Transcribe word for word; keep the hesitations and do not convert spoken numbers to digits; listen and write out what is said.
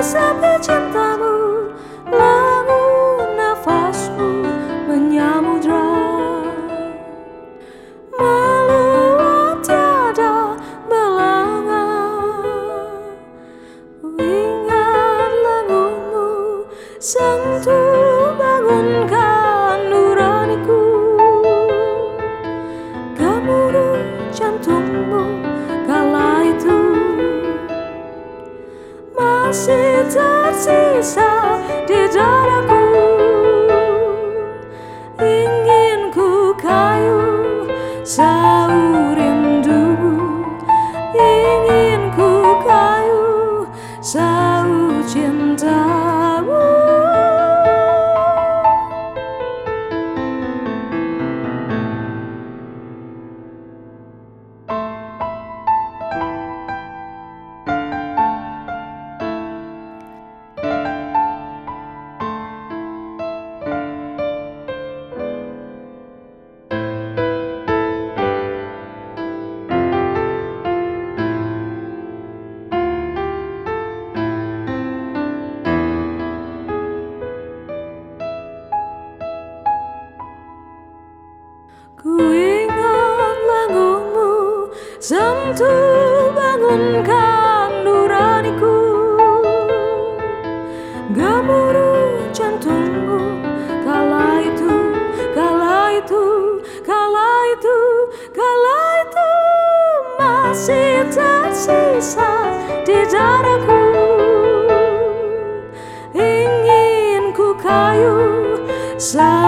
sepi cintamu, lalu nafasmu menyamudra, meluap tiada belangan. Ingat lenganmu, sentuh bangunkan nuraniku, gemuruh jantungmu kala itu masih tersisa di dadaku. Ingin ku kayu sau rindumu, ingin ku kayu sau cintamu. Ku ingat lenganmu, sentuh bangunkan nuraniku, gemuruh jantungmu kala itu, kala itu, kala itu, kala itu masih tersisa di dadaku. Ingin ku kayu